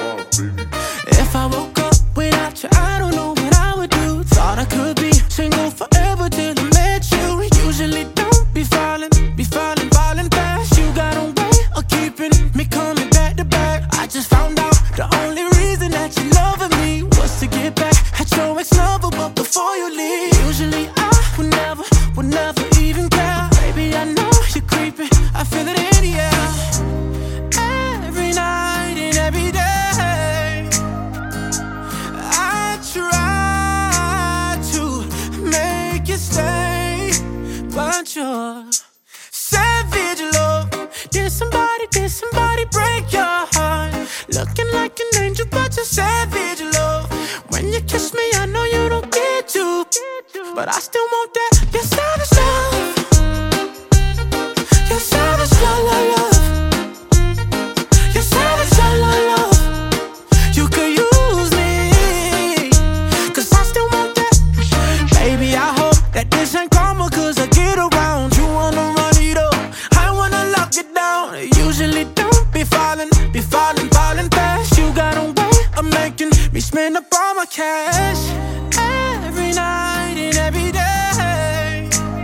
If I woke up without you, I don't know what I would do. Thought I could be single forever till I met you. Usually don't be falling fast. You got a way of keeping me coming back to back. I just found out the only reason that you loving me was to get back at your ex-lover, but before you leave, usually I would never even care. Baby, I know you're creeping, I feel it in the air. Every night and every day, I try to make you stay, but you're savage love. Did somebody break your heart? Looking like an angel, but you're savage love. When you kiss me, I know you don't get to, but I still want that. You're savage love. You're savage love, love, love. You're savage love, love, love. You could use me, 'cause I still want that. Baby, I hope that this ain't karma, 'cause I get around. You wanna run it up, I wanna lock it down. Usually don't be falling fast. You got a way of making me spend up all my cash. Every night and every day,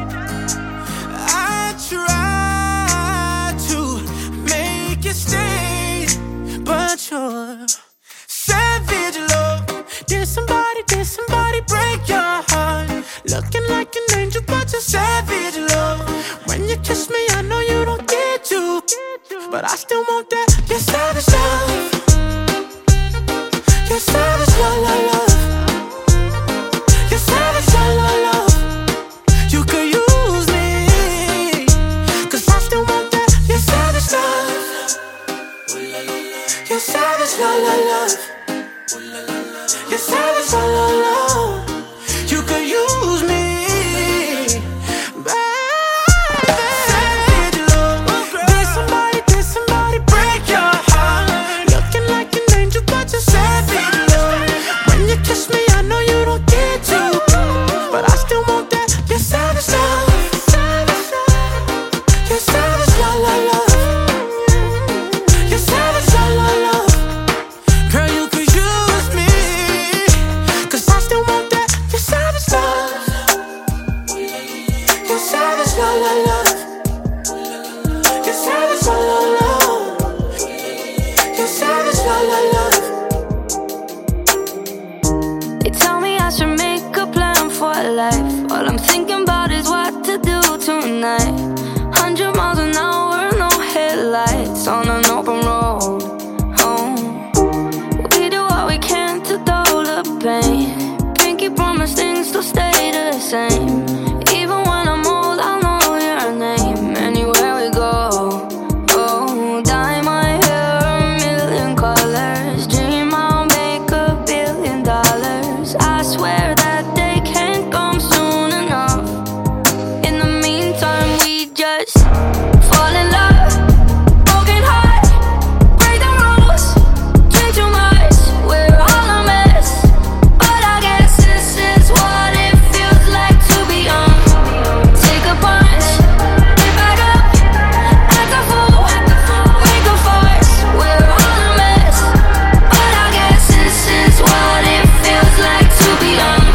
I try to make you stay, but you're savage love. Did somebody break your heart? Looking like an angel, but you're savage love. When you kiss me, I know you don't get to, but I still want that. You're savage love. You're savage love, love, love. You're savage love, love, love. You could use me, 'cause I still want that. You're savage love. You're savage love, love, love. You're savage love, love, love. You could use me, baby. Savage love. Did somebody break your heart? Looking like an angel, but you're savage love. When you kiss me, I know you don't get to, but I still want that. You're savage love. You're savage love, love, love. You're savage love, love, love. Girl, you could use me, 'cause I still want that. You're savage love. You're savage love, love, love. You're savage love, love, love. You're savage love, love, love. They tell me I should make a plan for life. All I'm thinking about is what to do tonight. 100 miles an hour, no headlights on an open road. Oh, we do what we can to dull the pain. Pinky promise things to stay the same. Even when I'm old, I'll know your name anywhere we go. Oh, dye my hair a million colors. Dream I'll make $1 billion. I swear that they can't come soon enough. In the meantime, we just fall in love, broken heart, break the rules, drink too much, we're all a mess. But I guess this is what it feels like to be young. Take a punch, get back up, act a fool, wake up first, we're all a mess. But I guess this is what it feels like to be young.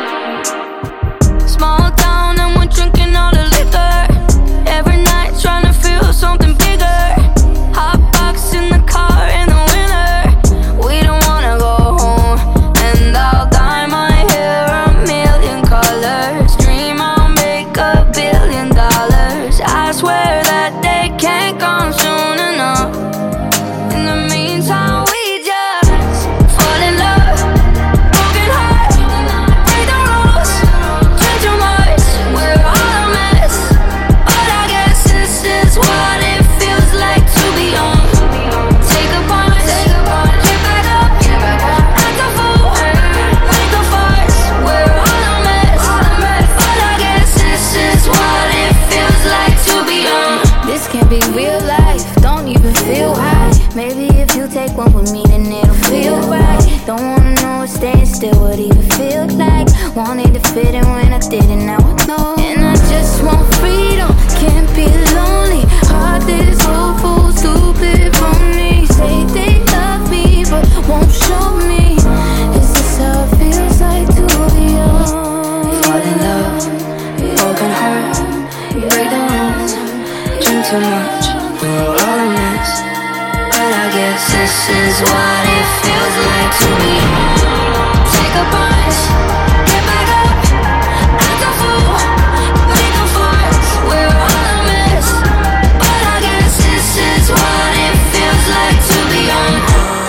Small town and we're drinking all the liquor. Every night trying to feel something bigger. Hot box in the car in the winter. We don't wanna go home. And I'll dye my hair a million colors. Dream I'll make $1 billion. I swear that they can't come soon enough. In the meantime, we just fall in love, broken heart, break the rules, drink too much, we're all a mess. But I guess this is what it feels like to be young. Take a punch, get back up, act a fool, wake up first, we're all a mess. But I guess this is what it feels like to be young. This can't be real life, don't even feel high. Maybe if you take one with me, then it'll feel right. Don't wanna know what staying still would even feel like. Wanted to fit in when I didn't, now I know. And I just want freedom, can't be lonely. Heart that is hopeful, stupid for me. Say they love me, but a punch, get back up, act a fool, make a fuss. We're all a mess, but I guess this is what it feels like to be young.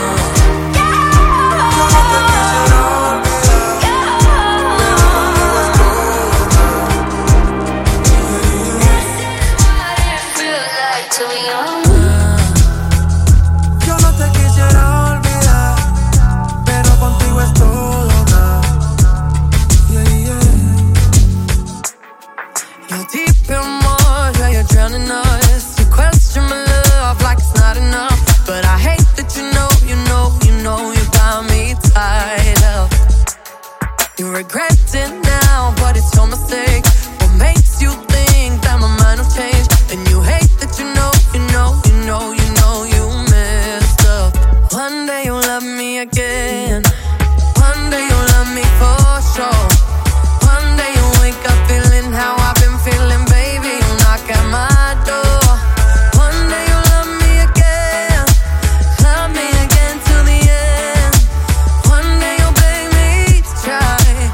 You regret it now, but it's your mistake. What makes you think that my mind will change? And you hate that you know you messed up. One day you'll love me again. One day you'll love me for sure. One day you'll wake up feeling how I've been feeling, baby. You'll knock at my door. One day you'll love me again till the end. One day you'll beg me to try.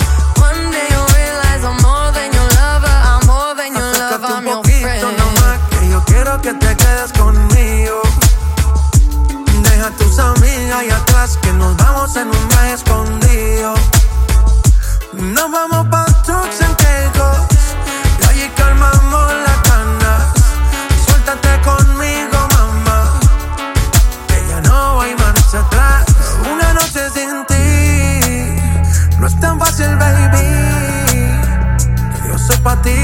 Que te quedes conmigo. Deja a tus amigas allá atrás, que nos vamos en un viaje escondido. Nos vamos pa' Turks and Caicos y allí calmamos las ganas. Suéltate conmigo, mamá, que ya no hay marcha atrás. Una noche sin ti no es tan fácil, baby. Yo soy pa' ti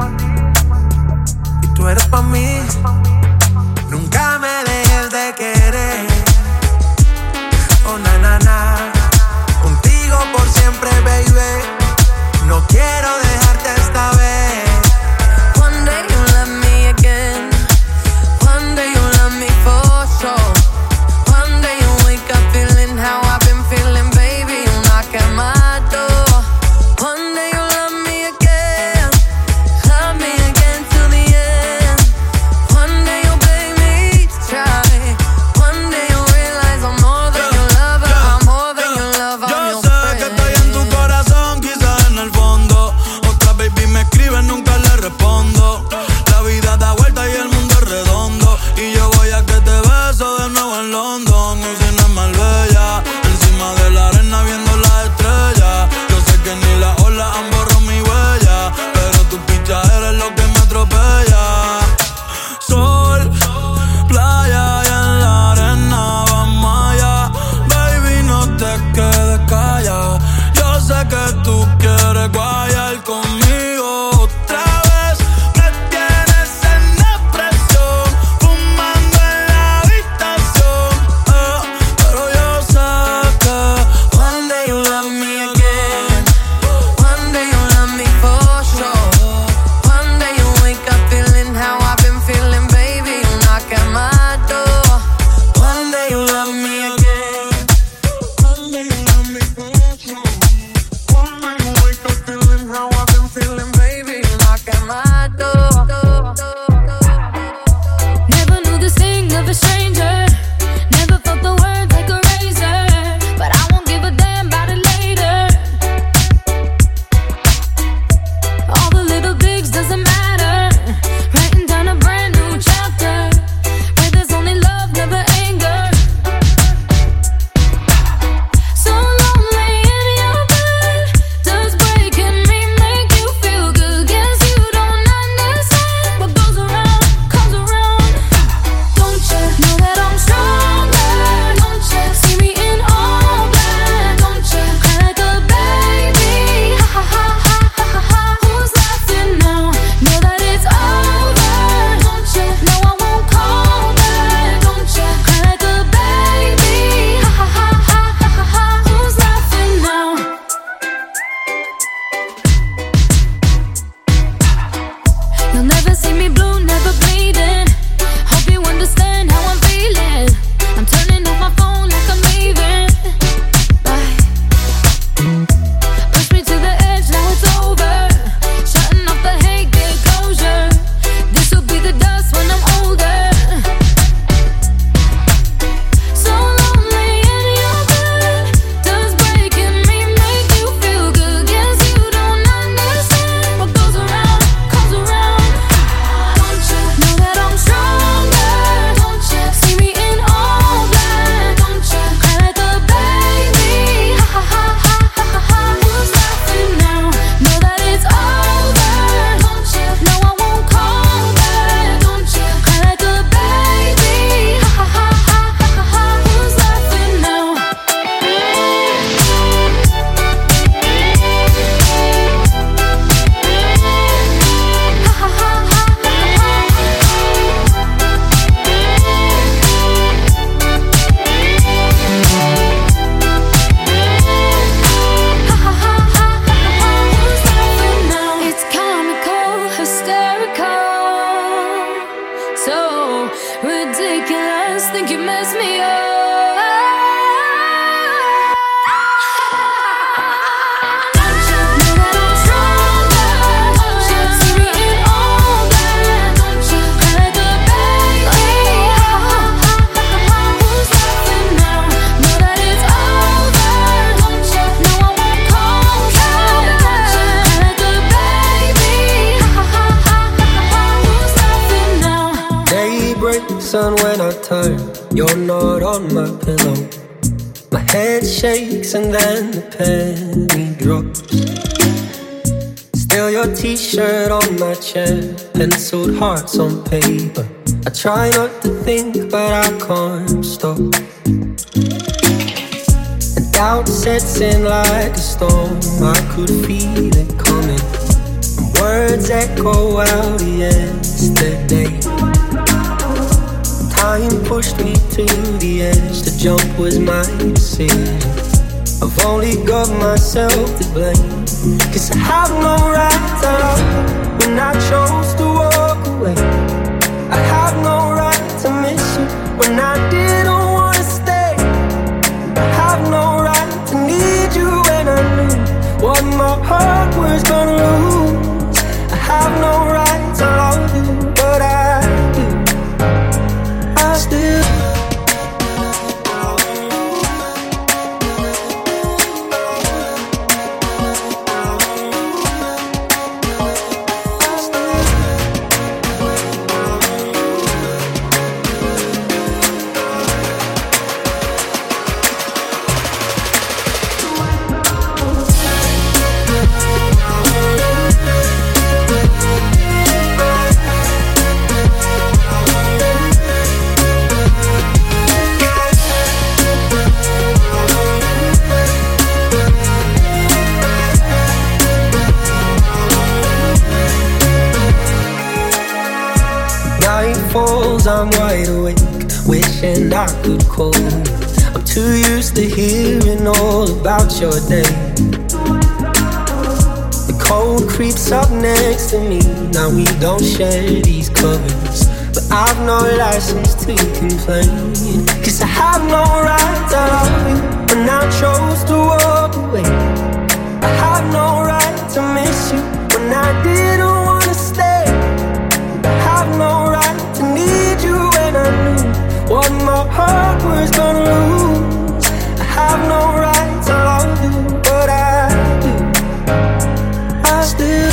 y tú eres pa' mí. Nunca me dejes de querer. Oh, na, na, na. Contigo por siempre, baby. No quiero dejarte esta on my pillow. My head shakes and then the penny drops. Still your t-shirt on my chair, penciled hearts on paper. I try not to think, but I can't stop. And doubt sets in like a storm. I could feel it coming. And words echo out yesterday. Time pushed me to the edge. The jump was my decision. I've only got myself to blame. 'Cause I have no right to love you when I chose to walk away. I have no right to miss you when I didn't want to stay. I have no right to need you when I knew what my heart was gonna lose. I have no right to love you, but I do. I still I'm wide awake, wishing I could call you. I'm too used to hearing all about your day. The cold creeps up next to me. Now we don't share these covers, but I've no license to complain. 'Cause I have no right to love you when I chose to walk away. I have no right to miss you when I didn't want to stay. I have no right to need you when I knew what my heart was gonna lose. I have no right to love you, but I do. I still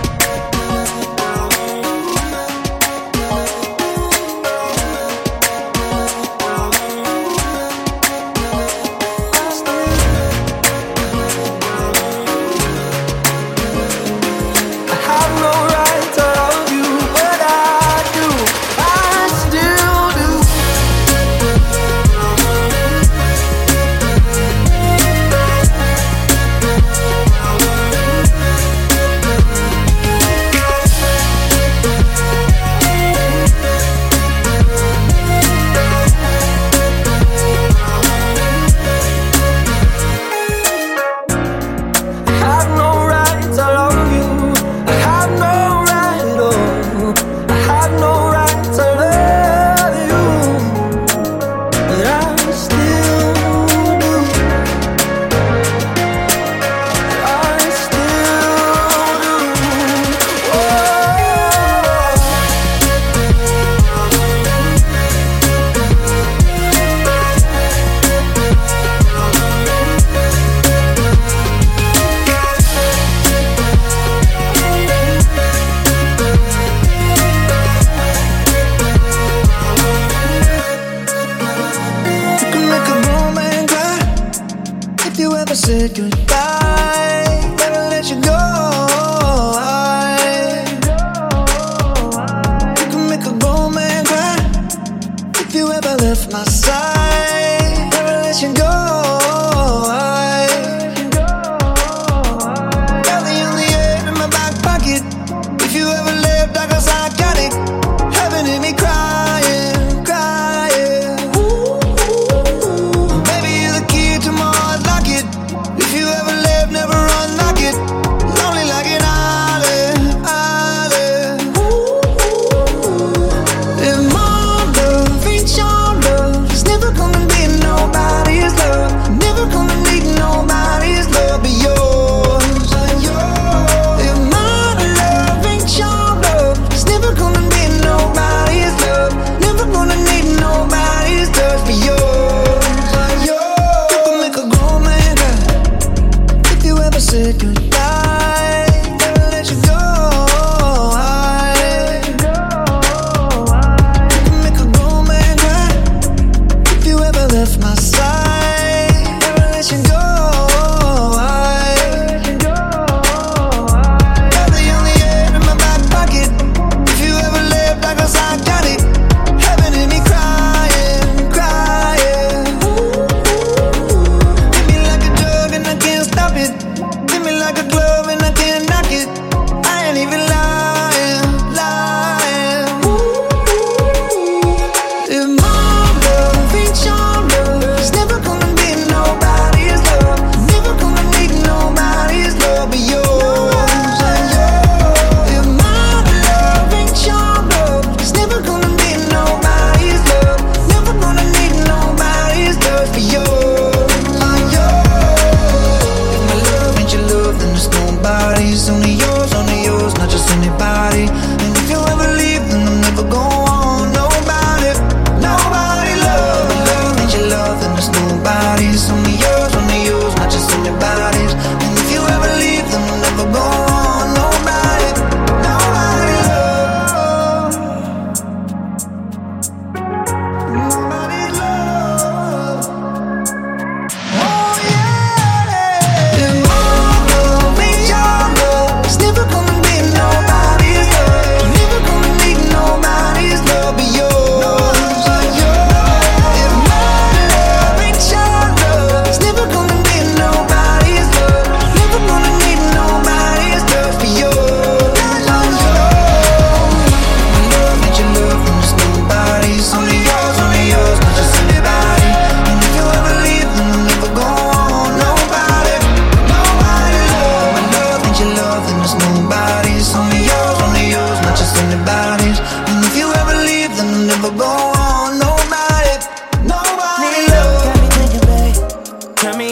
said goodbye, never let you go. You can make a grown man cry if you ever left my side, never let you go. Got the only air in my back pocket. If you ever left, I guess I got it. Heaven hit me crying, crying. Baby, you're the key to my heart, lock it. If you ever left, never unlock it. Lonely like an island, island. If my love ain't your love, it's never gonna be nobody's love. Never gonna need nobody's love but yours. If my love ain't your love, it's never gonna be nobody's love. Never gonna need nobody's love but yours. You can make a grown man cry if you ever said goodbye, never let you go. You can make a grown man cry if you ever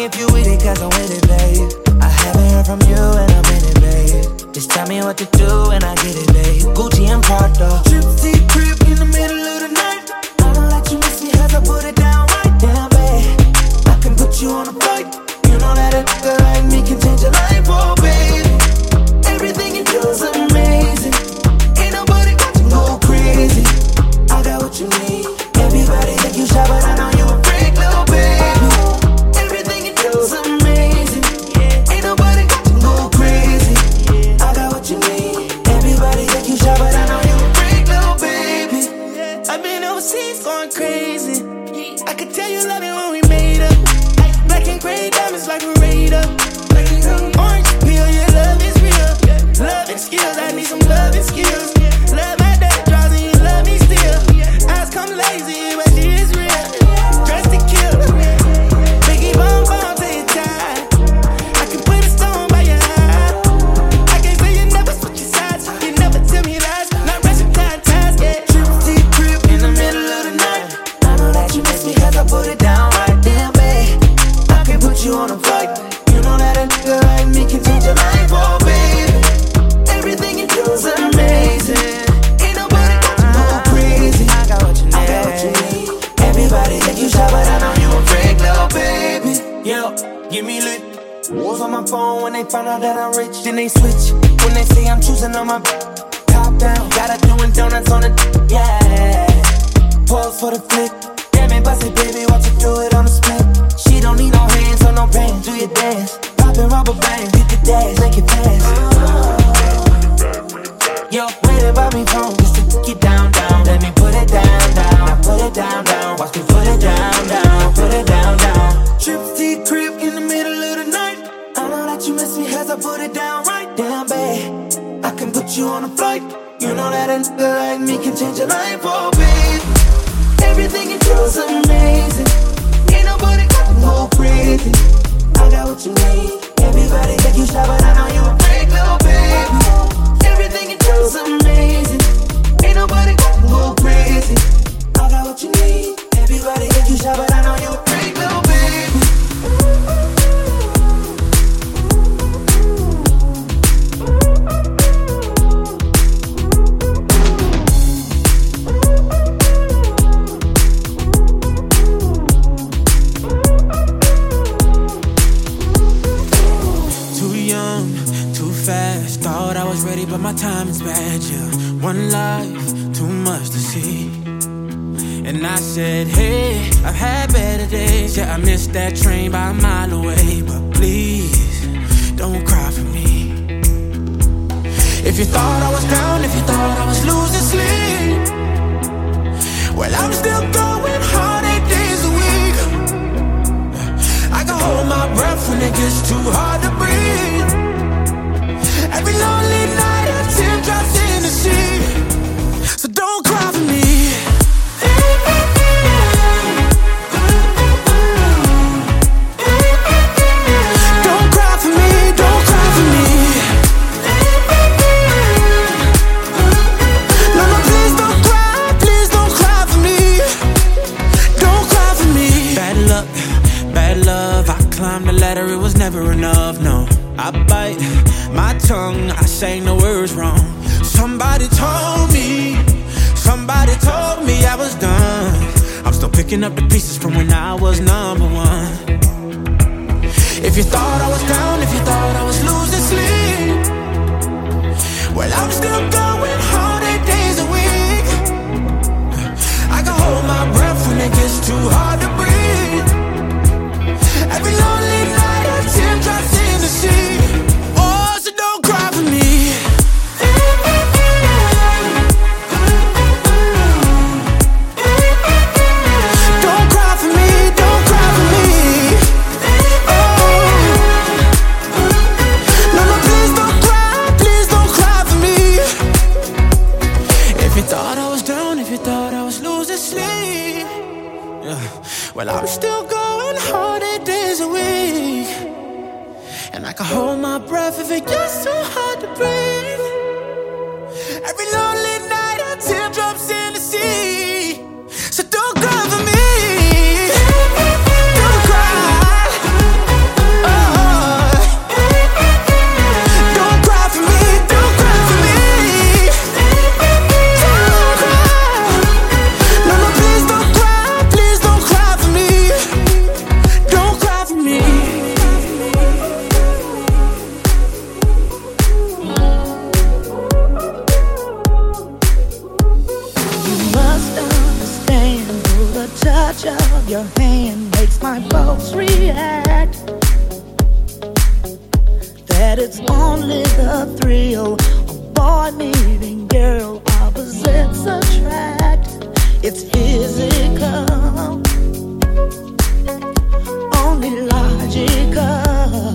if you with it, cause I'm with it, babe. I haven't heard from you and I'm in it, babe. Just tell me what to do and I get it, babe. Gucci and Prada. Trip to the crib in the middle of the night. I don't let you miss me as I put it down right down, babe. I can put you on a flight. You know that a nigga like me can change your life, oh, baby. Everything you do is amazing. Ain't nobody got to go crazy. I got what you need. Everybody think you shy, but I know you a freak, little baby. Everything you do is amazing. Ain't nobody got to go crazy. I got what you need. Everybody think you shy, but I know you a freak, little baby. I've been overseas going crazy. I could tell you love it when we made up. Black and gray diamonds like a radar. Orange peel, your love is real. Love and skills, I need some love and skills. Love my day draws and you love me still. Eyes come lazy, but she is real. Dressed to kill. Biggie bum bum till you're tired. I can put a stone by your eye. I can't say you never switch your sides. You never tell me lies. Not rushing time, yeah. Trip to the crib in the middle of the night. I know that you miss me cause I put it down right there, babe. I can put you on a flight. You know that a nigga like me can change your life, oh, baby. Everything you do is amazing. Ain't nobody got to go crazy. I got what you need. Everybody think you shy, but I know you a freak, little baby. Yo, give me lit. Wolves on my phone when they find out that I'm rich. Then they switch when they say I'm choosing on my top down. Gotta doing donuts on the yeah. Pause for the flick. Damn it, bust it, baby, watch you do it on the split. She don't need no hands or no pain. Do your dance, poppin' rubber bands. Hit the dash, make it fast. Yo, waiting by me phone just to take it down, down. Let me put it down, down. Now put it down, down. Watch me put it down, down. Put it down, down. Trip to the crib in the middle of the night. I know that you miss me as I put it down right down, babe. I can put you on a flight. You know that a nigga like me can change your life, oh, babe. Everything you do is amazing. Ain't nobody got to go crazy. I got what you need. Everybody think you shy, but I know you a freak, little baby. Everything you do is amazing. Ain't nobody got to go crazy. I got what you need. Everybody think you shy, but I know you a freak, little baby. Thought I was ready, but my time is bad, yeah. One life, too much to see. And I said, hey, I've had better days. Yeah, I missed that train by a mile away. But please, don't cry for me. If you thought I was down, if you thought I was losing sleep, well, I'm still going hard 8 days a week. I can hold my breath when it gets too hard to breathe. Every lonely night a tear drops in the sea. So don't cry for me. Don't cry for me, don't cry for me. No, no, please don't cry for me. Don't cry for me. Bad love, I climbed the ladder, it was never enough, no. I bite my tongue, I sang the words wrong. Somebody told me I was done. I'm still picking up the pieces from when I was number one. If you thought I was down, if you thought I was losing sleep, well, I'm still going hard 8 days a week. I can hold my breath when it gets too hard to breathe. Every lonely night a tear drops in the sea. Oh, so don't cry for me. Don't cry for me, don't cry for me. Oh, no, no, please don't cry for me. If you thought I was down, if you thought I was losing sleep, well, I'm still going hard 8 days a week. And I can hold my breath if it gets too hard to breathe. Every lonely night a teardrops in the sea. So don't cry for me. Don't cry. that it's only the thrill of boy meeting girl. Opposites attract, it's physical, only logical.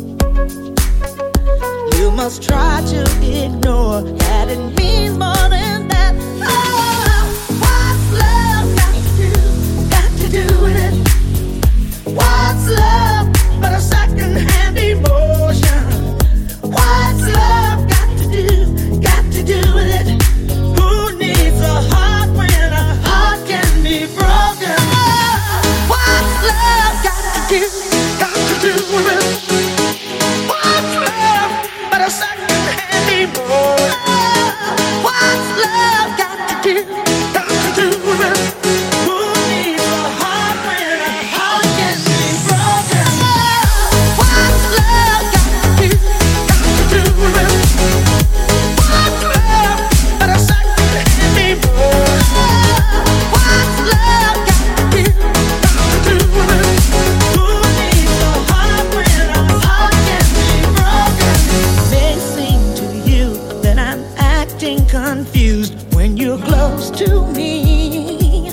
You must try to ignore that it means more than that. Oh, what's love got to do with it? What's love but a second-hand emotion? What's love got to do with it? Who needs a heart when a heart can be broken? What's love got to do with it? What's love but a second-hand emotion? What's love got to do with it? Who needs a heart when a heart can be broken? What's love got to do with it? What's love but a second-hand emotion? What's love got to do with it? Who needs a heart when a heart can be broken? It may seem to you that I'm acting confused when you're close to me.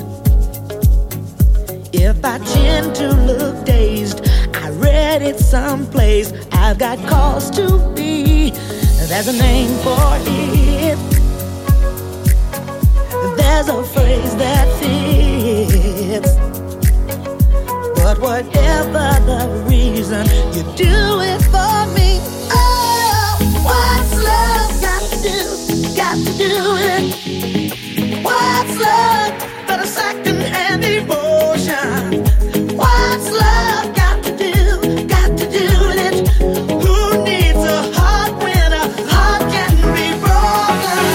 If I tend to look dazed, I read it someplace. I've got cause to be. There's a name for it. There's a phrase that fits. But whatever the reason, you do it for me. Oh, what's love got to do with it? What's love but a second-hand emotion? What's love got to do with it? Who needs a heart when a heart can be broken?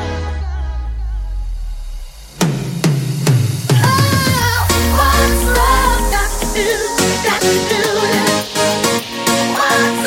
Oh, what's love got to do with it? What's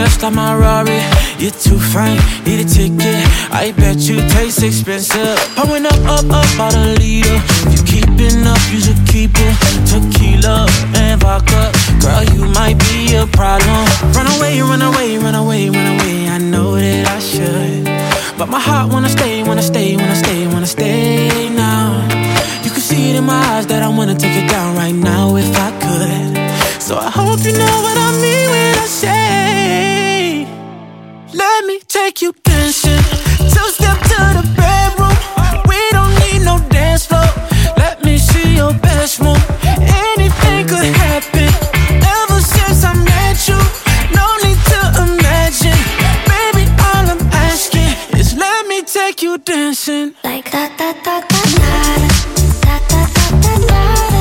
flesh like my Rari. You're too fine, need a ticket. I bet you taste expensive. Pouring up about a liter. If you keeping up, you should keep it. Tequila and vodka. Girl, you might be a problem. Run away, run away, run away, run away. I know that I should, but my heart wanna stay, wanna stay, wanna stay, wanna stay now. You can see it in my eyes that I wanna take it down right now if I could. So I hope you know what I mean when I say, let me take you dancing. Two-step to the bedroom. We don't need no dance floor. Let me see your best move. Anything could happen. Ever since I met you, no need to imagine. Baby, all I'm asking is let me take you dancing. Like da da da da da da da da da da.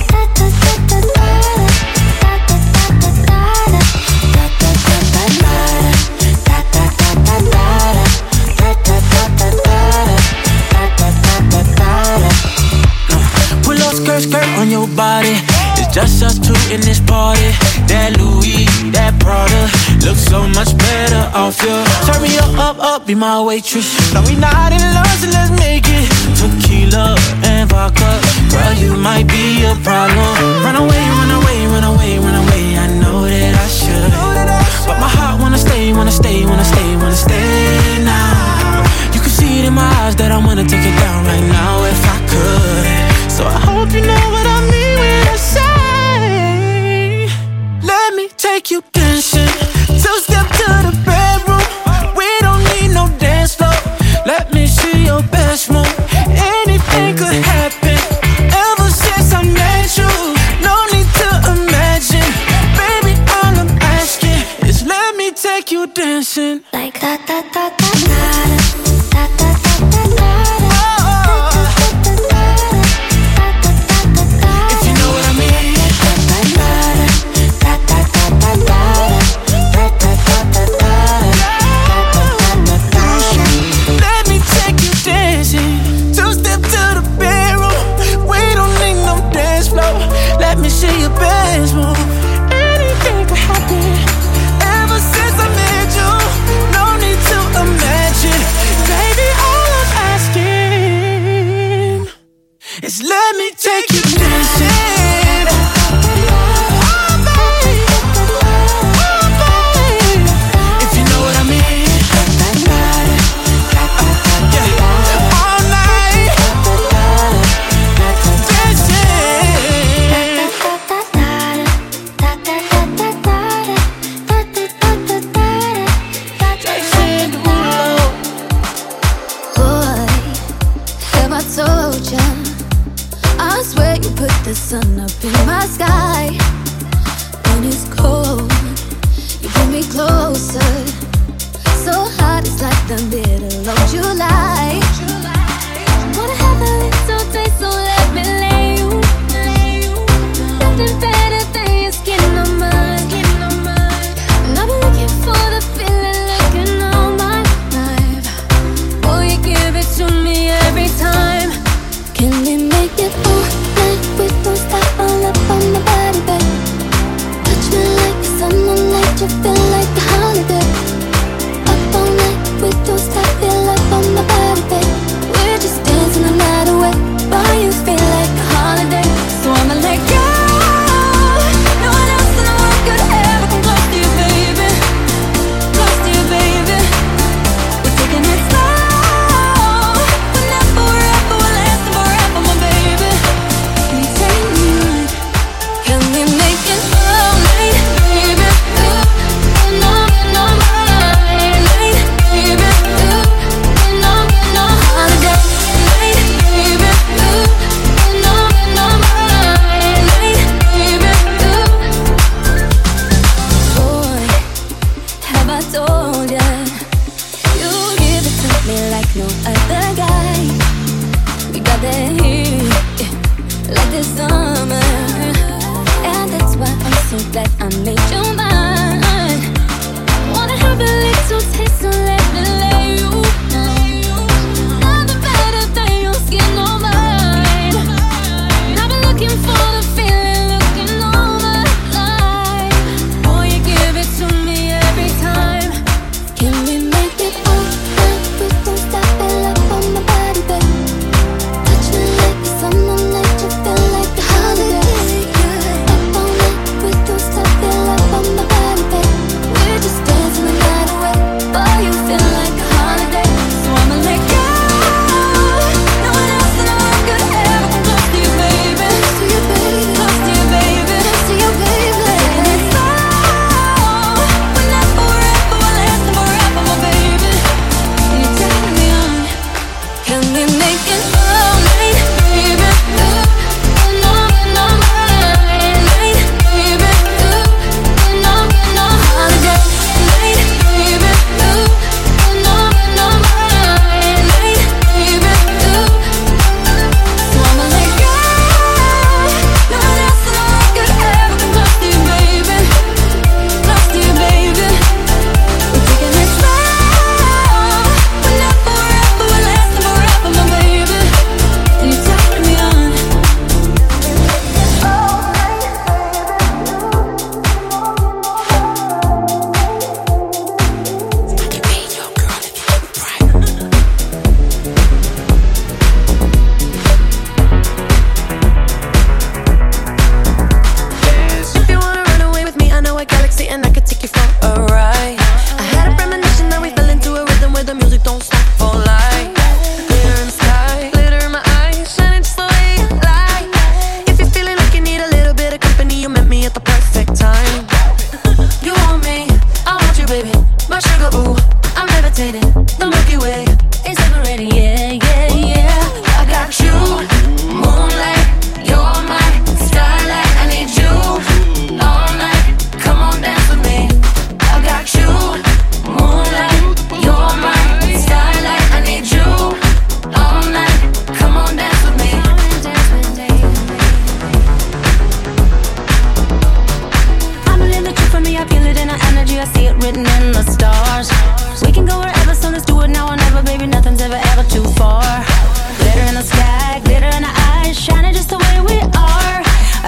Skirt on your body, it's just us two in this party. That Louis, that Prada, looks so much better off you. Turn me up, be my waitress. No, we not in love, so let's make it. Tequila and vodka, girl, you might be a problem. Run away, run away, run away, run away. I know that I should, but my heart wanna stay, wanna stay, wanna stay, wanna stay now. You can see it in my eyes that I wanna take it down right now if I could. So I hope you know what I mean when I say, let me take you dancing. Two-step to the bedroom. We don't need no dance floor. Let me see your best move. Anything could happen. Ever since I met you, no need to imagine. Baby, all I'm asking is let me take you dancing. Like da da da da da da da da da da. Let me see your best move. Anything could happen. Ever since I met you, no need to imagine. Baby, all I'm asking is let me take you dancing. Oh, baby. Oh, baby. If you know what I mean. Yeah. All night. I swear you put the sun up in my sky. When it's cold, you pull me closer. So hot, it's like the middle of July. Wanna have a little taste, so let me lay you. Nothing better than your skin on mine. And I've been looking for the feeling, looking all my life. Boy, you give it to me every time. Can we make it all night? We don't stop all up on my body, babe. Touch me like the summer night, you feel like the holiday. Up all night, we don't stop, feel up on my body, babe.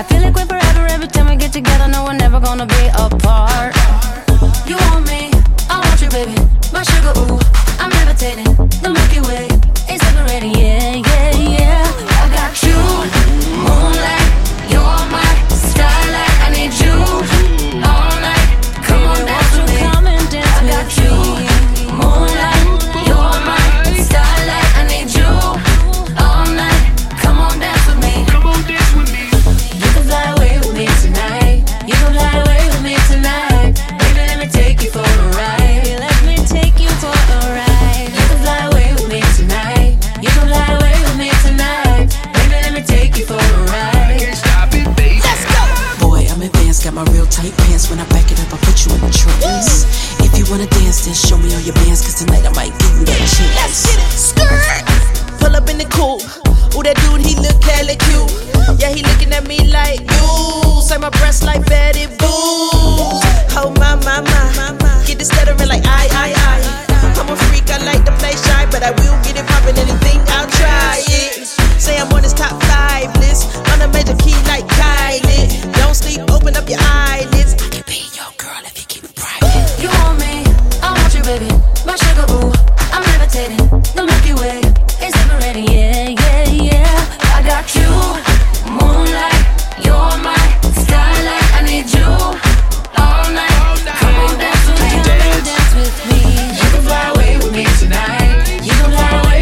I feel like we're forever every time we get together. No, we're never gonna be apart. You want me, I want you, baby. My sugar, ooh, I'm levitating. The Milky Way is separating, yeah, yeah, yeah. I got you, moonlight, you're my starlight. I need you all night. Come on, dance with me. I got you, moonlight, you're my starlight. I need you all night. Come on, dance with me. Come on, dance with me. You can fly away with me tonight. You can fly away with me tonight. Baby, let me take you for a ride. Let me take you for a ride. You can fly away with me tonight. You can fly away with me tonight. Baby, let me take you for a ride. Can't stop it, baby. Let's go. Boy, I'm advanced, got my real tight pants. When I back it up, I put you in a trance. If you wanna dance, then show me all your bands, cause tonight I might give you that chance. Let's get it. Skirt. Pull up in the coupe. Ooh, that dude, he look hella cute. Yeah, he looking at me like, you. Say my breasts like Betty Boo. Oh, my. Get this stuttering like I. I'm a freak, I like to play shy, but I will get it poppin', anything, I'll try it. Say I'm on his top 5 list. On a major key like Kylie. Don't sleep, open up your eyelids. I can be your girl if you keep it private. You want me, I want you, baby. My sugar, ooh, I'm levitating. The Milky Way is separating, yeah, yeah, yeah. I got you, moonlight, you're my starlight. I need you all night. Come on, dance with me, come on, dance with me. You can fly away with me tonight. You can fly away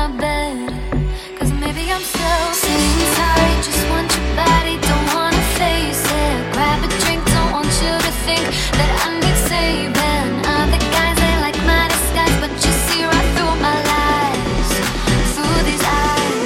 my bed. Cause maybe I'm selfish. Sitting tight, just want your body, don't wanna face it. Grab a drink, don't want you to think that I need saving. Other guys, they like my disguise, but you see right through my lies, through these eyes.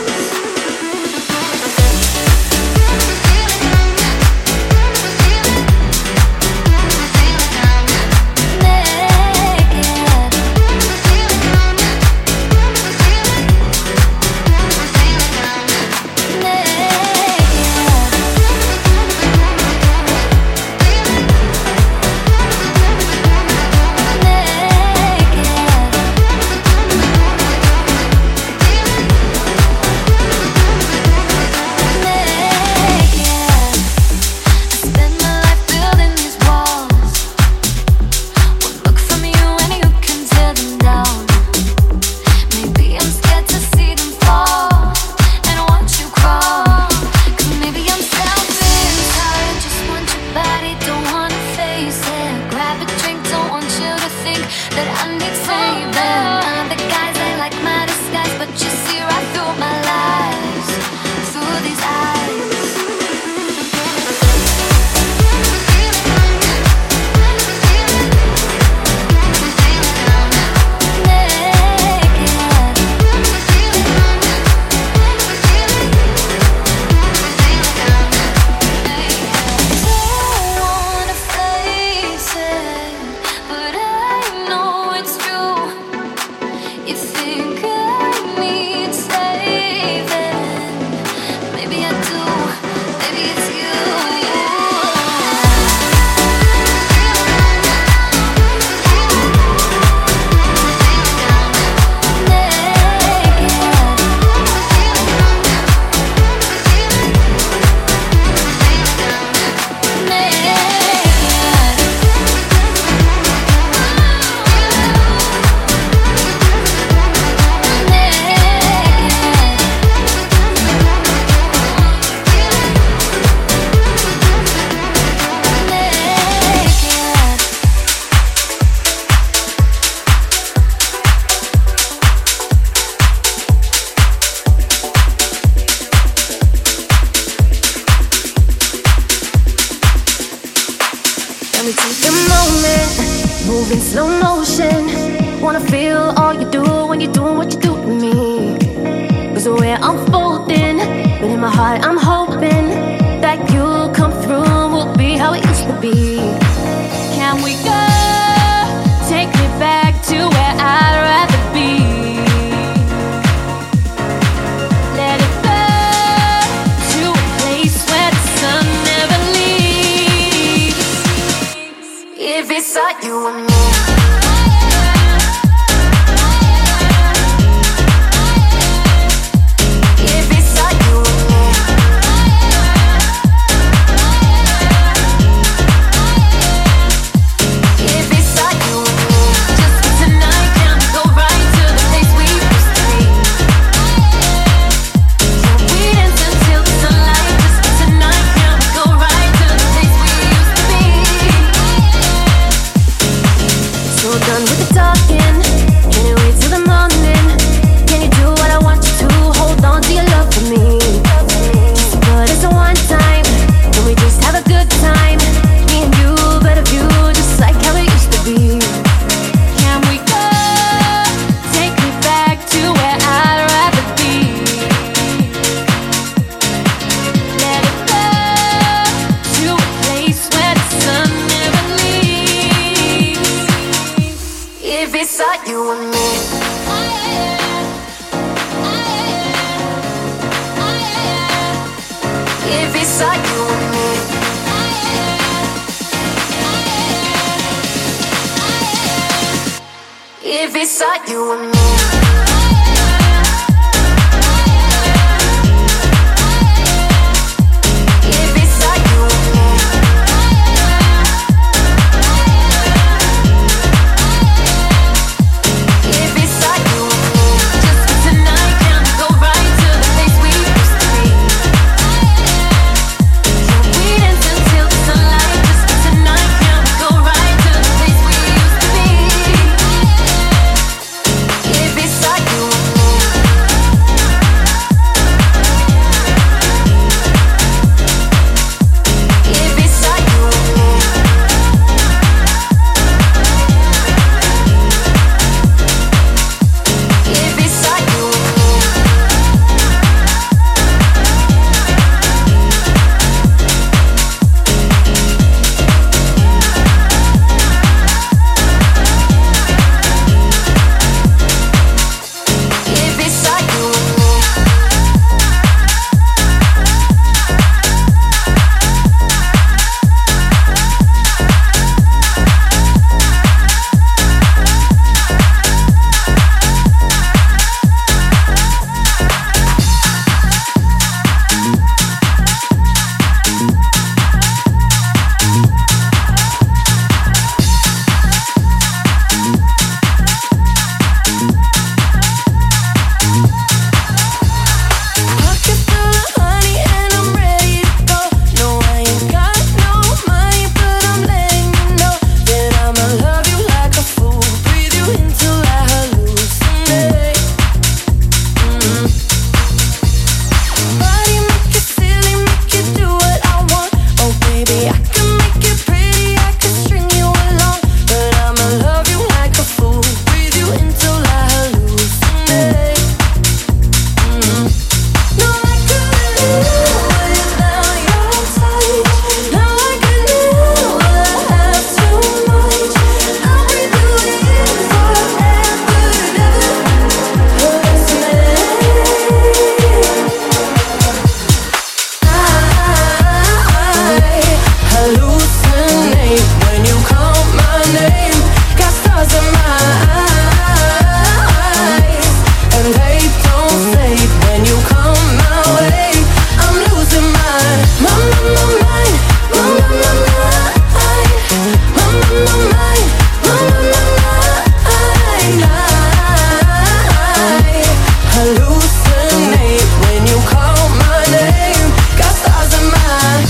hallucinate when you call my name. Got stars in my eyes.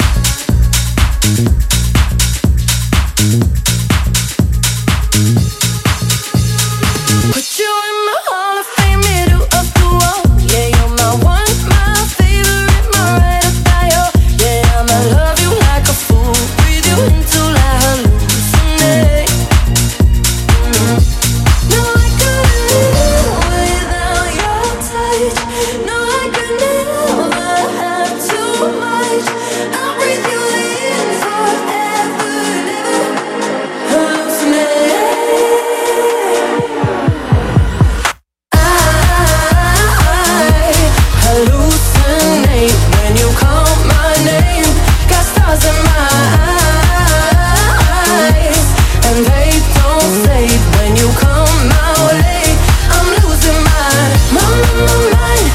Put you in my Hall of Fame, middle of the wall. Yeah, you're my one, my favorite, my ride or die. Oh, yeah, I'ma love you like a fool, breathe you until I hallucinate. No, I couldn't live without your touch. No, I could never have too much. I'll breathe you in forever, never hallucinate. Hallucinate when you call my name. Got stars in my eyes, and they don't fade when you come my way. I'm losing my mind, mind.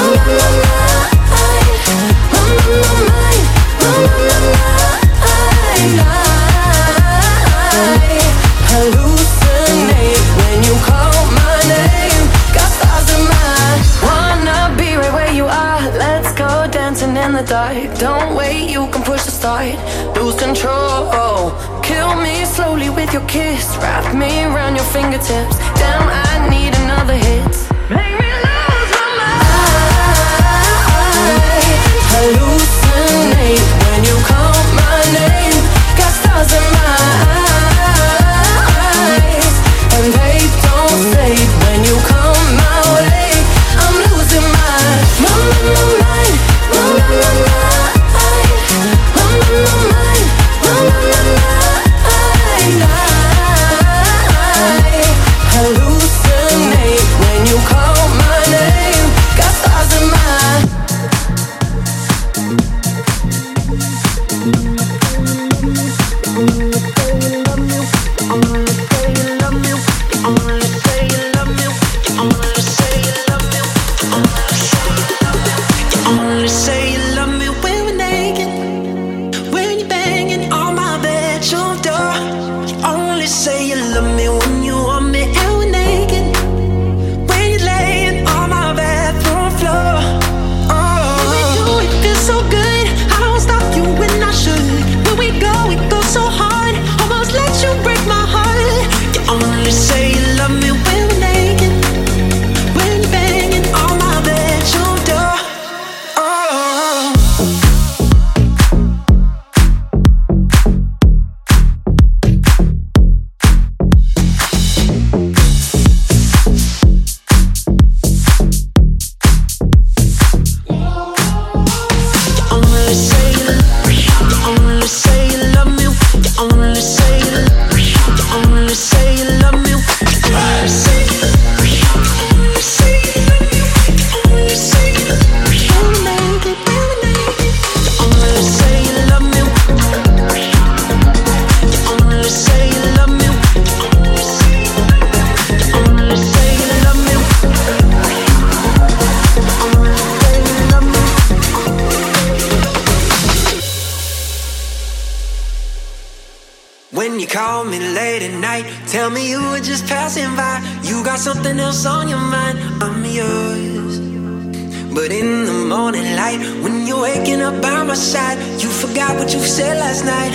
Hallucinate when you call my name. Got stars in my eyes. Wanna be right where you are. Let's go dancing in the dark. Don't wait, you can push the start. Lose control. Kill me slowly with your kiss. Wrap me around your fingertips. Damn, I need another hit. Make me lose my mind. Hallucinate when you call my name. Got stars in my eyes, and they don't fade when you come my way. I'm losing my mind. Hallucinate when you call my name. Got stars in my eyes. Only say you love me when we're naked, when you're banging on my bedroom door. You only say you love me when you want me and we're naked, when you're laying on my bathroom floor. Oh, when we do it feels so good. I don't stop you when I should. When we go, it goes so hard. Almost let you break my heart. You only say you love me when we're naked, when you're banging on my bedroom door. When you call me late at night, tell me you were just passing by. You got something else on your mind, I'm yours. But in the morning light, when you're waking up by my side, you forgot what you said last night.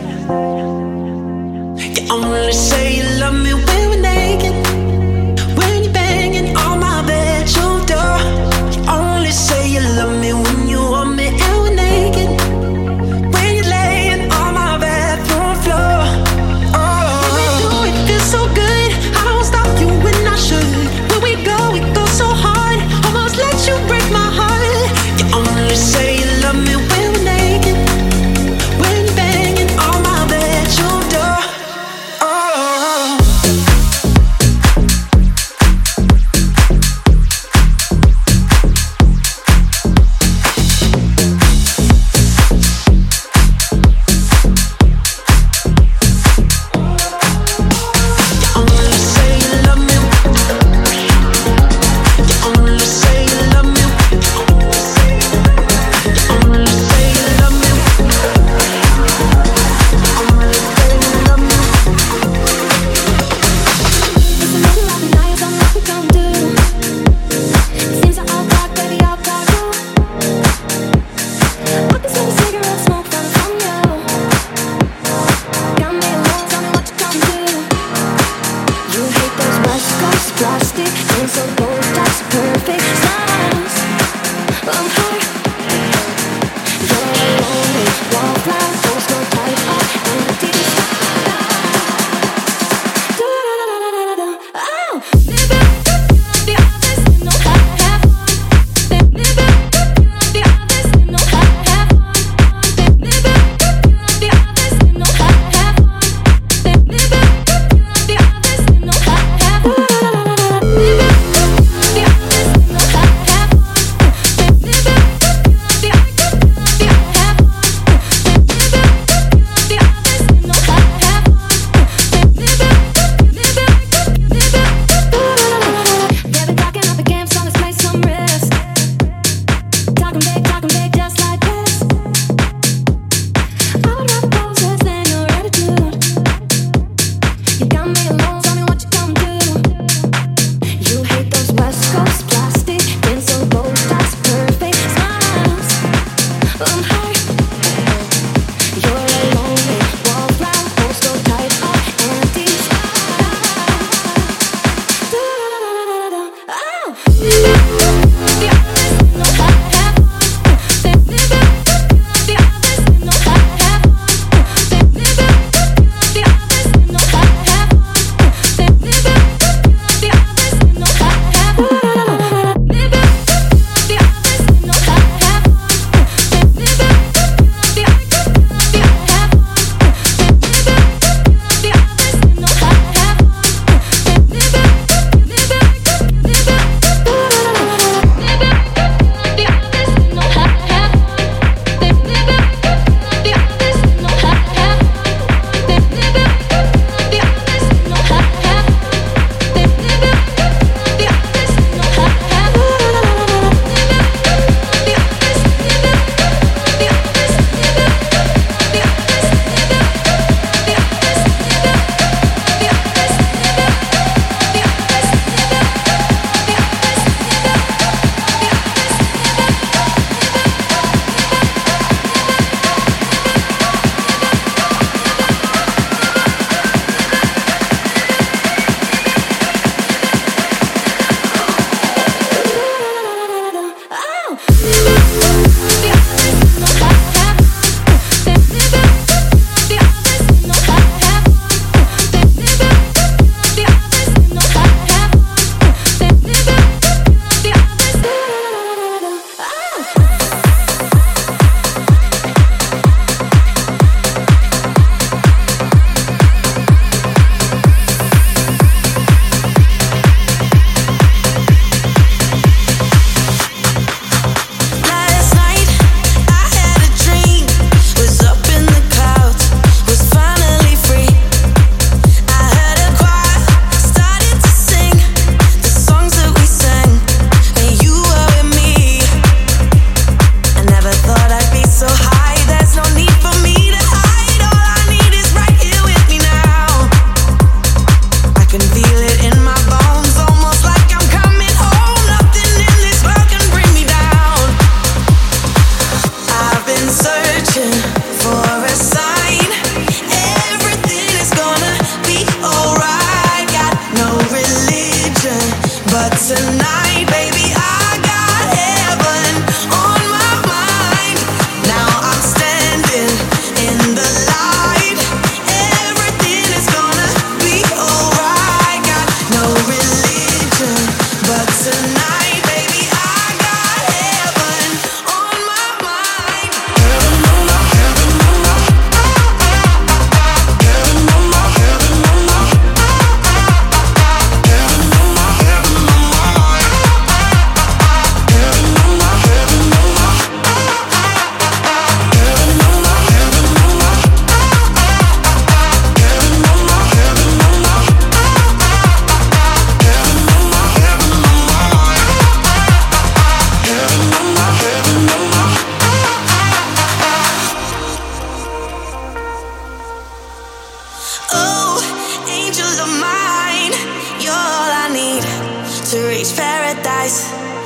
You only say you love me when we're naked, when you're banging on my bedroom door. You only say you love me when you want me and we're naked, when you're laying on my bathroom floor. Oh, when we do it feels so good. I don't stop you when I should. When we go, it goes so hard. Almost let you break my heart. You only say you love me when we're naked, when you're banging on my bedroom door. Oh.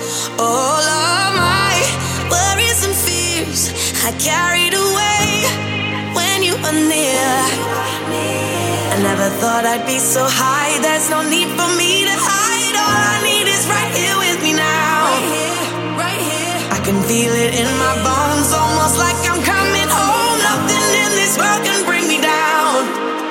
All of my worries and fears I carried away when you were near. I never thought I'd be so high. There's no need for me to hide. All I need is right here with me now. Right here. I can feel it in my bones, almost like I'm coming home. Nothing in this world can bring me down.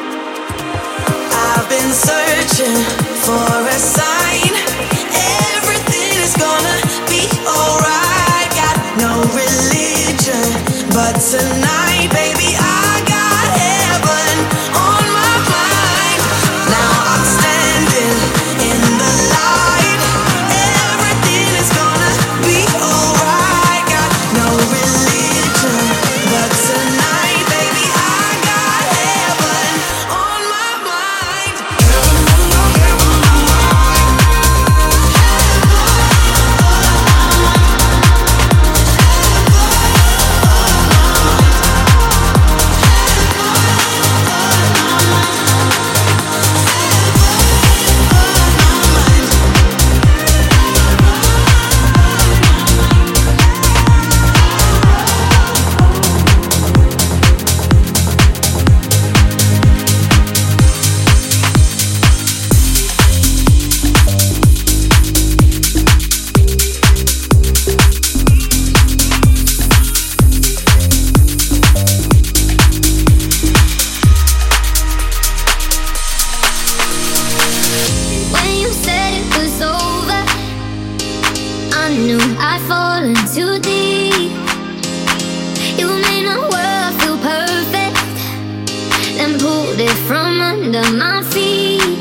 I've been searching for a sign. Everything is gonna be alright. Got no religion, but tonight, baby, I got heaven on my mind. Now I'm standing in the light. Everything is gonna be alright. Got no religion, but tonight, baby, I got heaven on my mind. When you said it was over, I knew I'd fallen too deep. You made my world feel perfect, then pulled it from under my feet.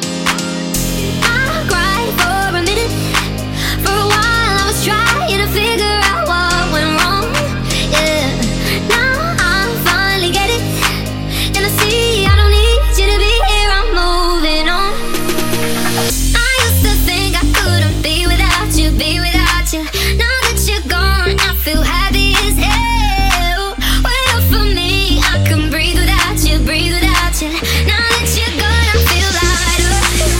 I cried for a minute, for a while I was trying to figure out what went wrong. Yeah, now I finally get it, and I see I don't need you to be here. I'm moving on. I used to think I couldn't be without you, be without you. Now that you're gone, I feel happy as hell. Wait up for me, I can breathe without you, breathe without you. Now that you're gone, I feel lighter.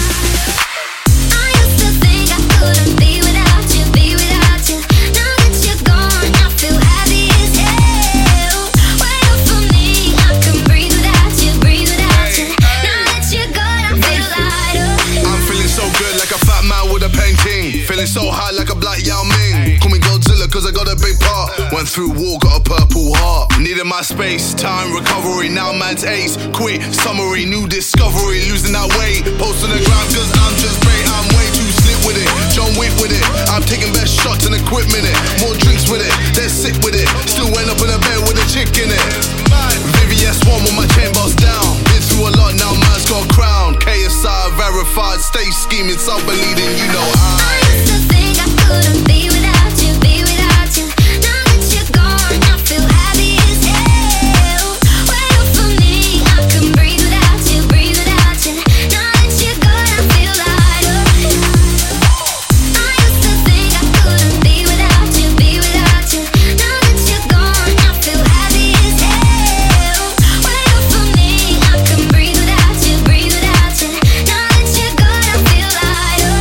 I used to think I couldn't be without you, be without you. Now that you're gone, I feel happy as hell. Wait up for me, I can breathe without you, breathe without you. Now that you're gone, I feel lighter. I'm feeling so good like a fat man with a painting. Feeling so high like a black Yao Ming. Call me Godzilla cause I got a big part. Went through war, got a purple heart. Needed my space, time, recovery. Now man's ace, quit, summary, new discovery. Losing that weight, post on the ground cause I'm just great. I'm way too slick with it, John Wick with it. I'm taking best shots and equipment it. More drinks with it, they're sick with it. Still end up in a bed with a chick in it. VVS1 with my chain boss down. Been through a lot, now man's got a crown. KSI verified, stay scheming, some believing, you know I used to think I couldn't be without you, be without you. Now that you're gone, I feel happy as hell. Wait up for me, I can breathe without you, breathe without you. Now that you're gone, I feel lighter. I used to think I couldn't be without you, be without you. Now that you're gone, I feel happy as hell. Wait up for me, I can breathe without you, breathe without you. Now that you're gone, I feel lighter.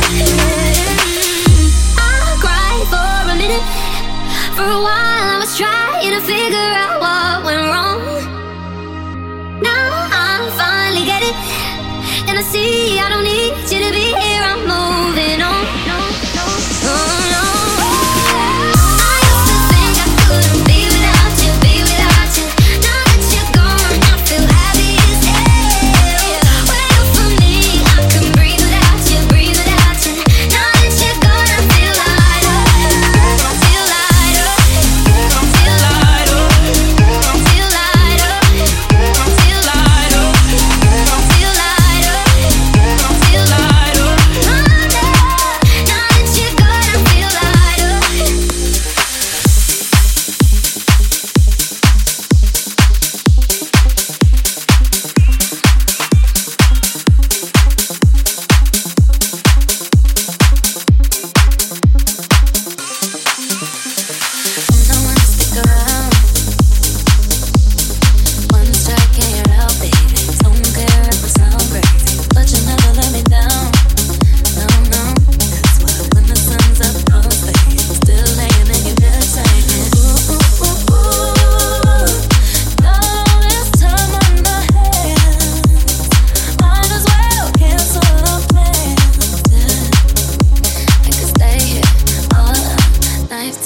I cried for a minute, for a while I was trying to figure out what went wrong. Now I finally get it, and I see I don't need you to be here. I'm moving on. Oh, no. I used to think I couldn't be without you, be without you. Now that you're gone, I feel happy as hell. Wait up for me, I can breathe without you, breathe without you. Now that you're gone, I feel lighter. Feel lighter. Feel lighter. Feel lighter. Feel lighter. Feel lighter. Feel lighter.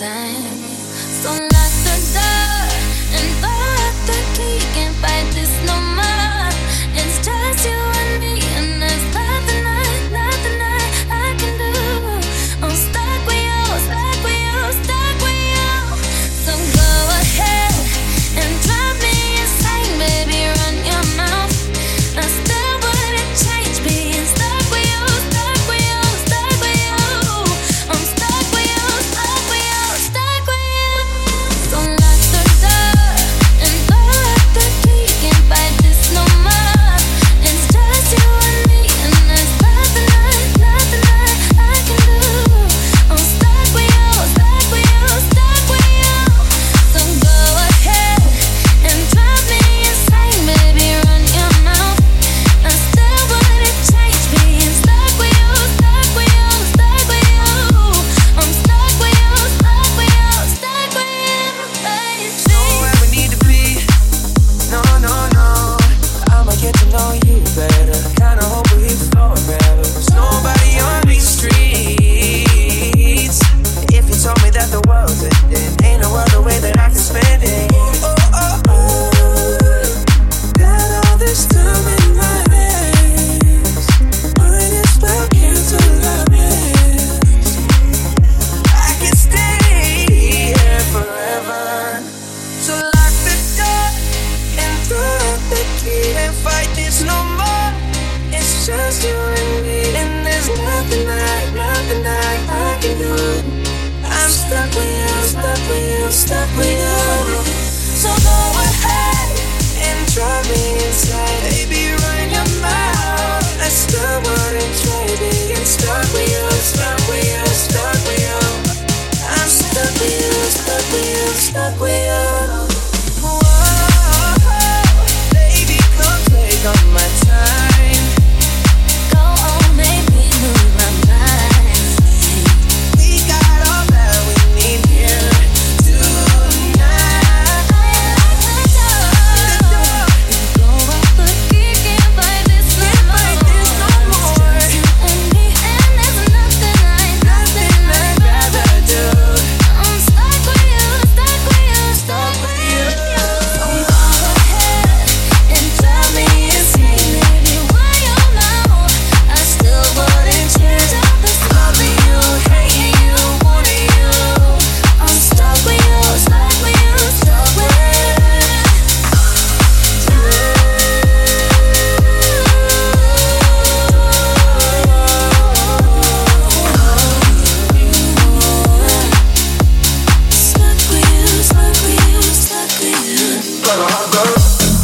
time. So lock the door and lock the key. Can't fight this no more. It's just you and me, and there's nothing I can do. I'm stuck with you, stuck with you, stuck with you. So go ahead and drive me insane, baby. Run your mouth. I still wouldn't change being stuck with you, stuck with you, stuck with you. I'm stuck with you, stuck with you, stuck with you. So lock the door and lock the key. Can't fight this no more. It's just you and me, and there's nothing I can do. I'm stuck with you, stuck with you, stuck with you. So go ahead and drive me insane, baby. Run your mouth. I still wouldn't change being stuck with you, stuck with you, stuck with you. I'm stuck with you, stuck with you, stuck with you, baby. Where we need to be. No, no, no. I'ma get to know you better. Kinda hope we flow better. There's nobody on these streets. If you told me that the world's ending, ain't no other way that I can spend it. Got all this time in my hands. Might as well cancel our plans. I can stay here forever. So lock the door and throw out the key. And fight this no more. It's just you and me, and there's nothing I can do. I'm stuck with you, stuck with you, stuck with you. So go ahead and drive me inside, baby. Run your mouth. I still wouldn't trade being stuck with you, stuck with you, stuck with you. I'm stuck with you, stuck with you, stuck with you. Whoa, baby, come take all my time. Go on, make me lose my mind. We got all that we need here tonight. Go off the key, can't fight this no more. It's just you and me, and there's nothing I'd rather do. I'm stuck with you, stuck with you, stuck with you. So go ahead and drive me insane, baby. Why you know I still wouldn't change all this loving you, hating you, wanting you. I'm stuck with you, stuck with you, stuck with you. Stuck with you, stuck with you, stuck with you.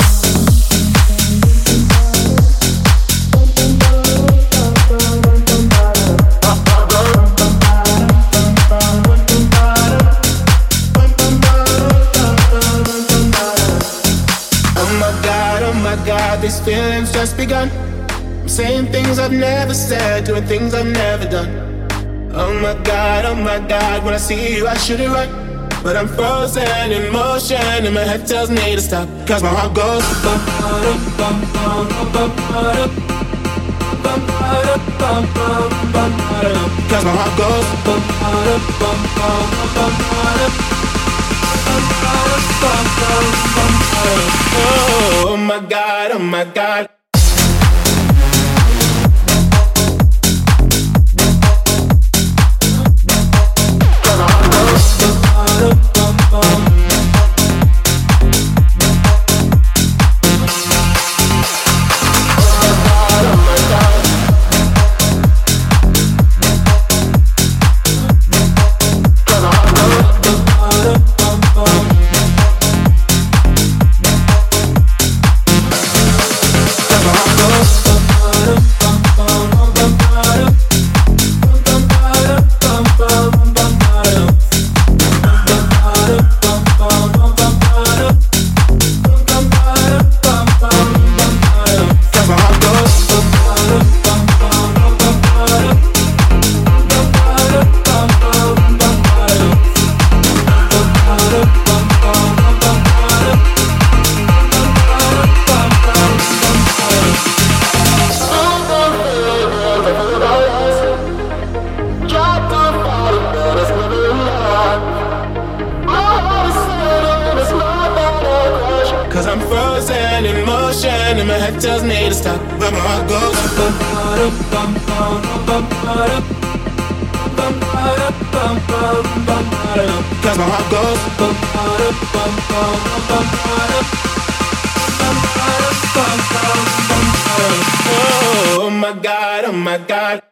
Oh my God, these feelings just begun. I'm saying things I've never said, doing things I've never done. Oh my God, when I see you I should it right. But I'm frozen in motion and my head tells me to stop. Cause my heart goes bum, bum, bum, bum, bum, bum, bum, bum, bum, bum, cause my heart goes bum, bum, bum, bum, bum, oh my God, oh my God. and my head tells me to stop, but my heart goes. Cause my heart goes. Oh my God, oh my God.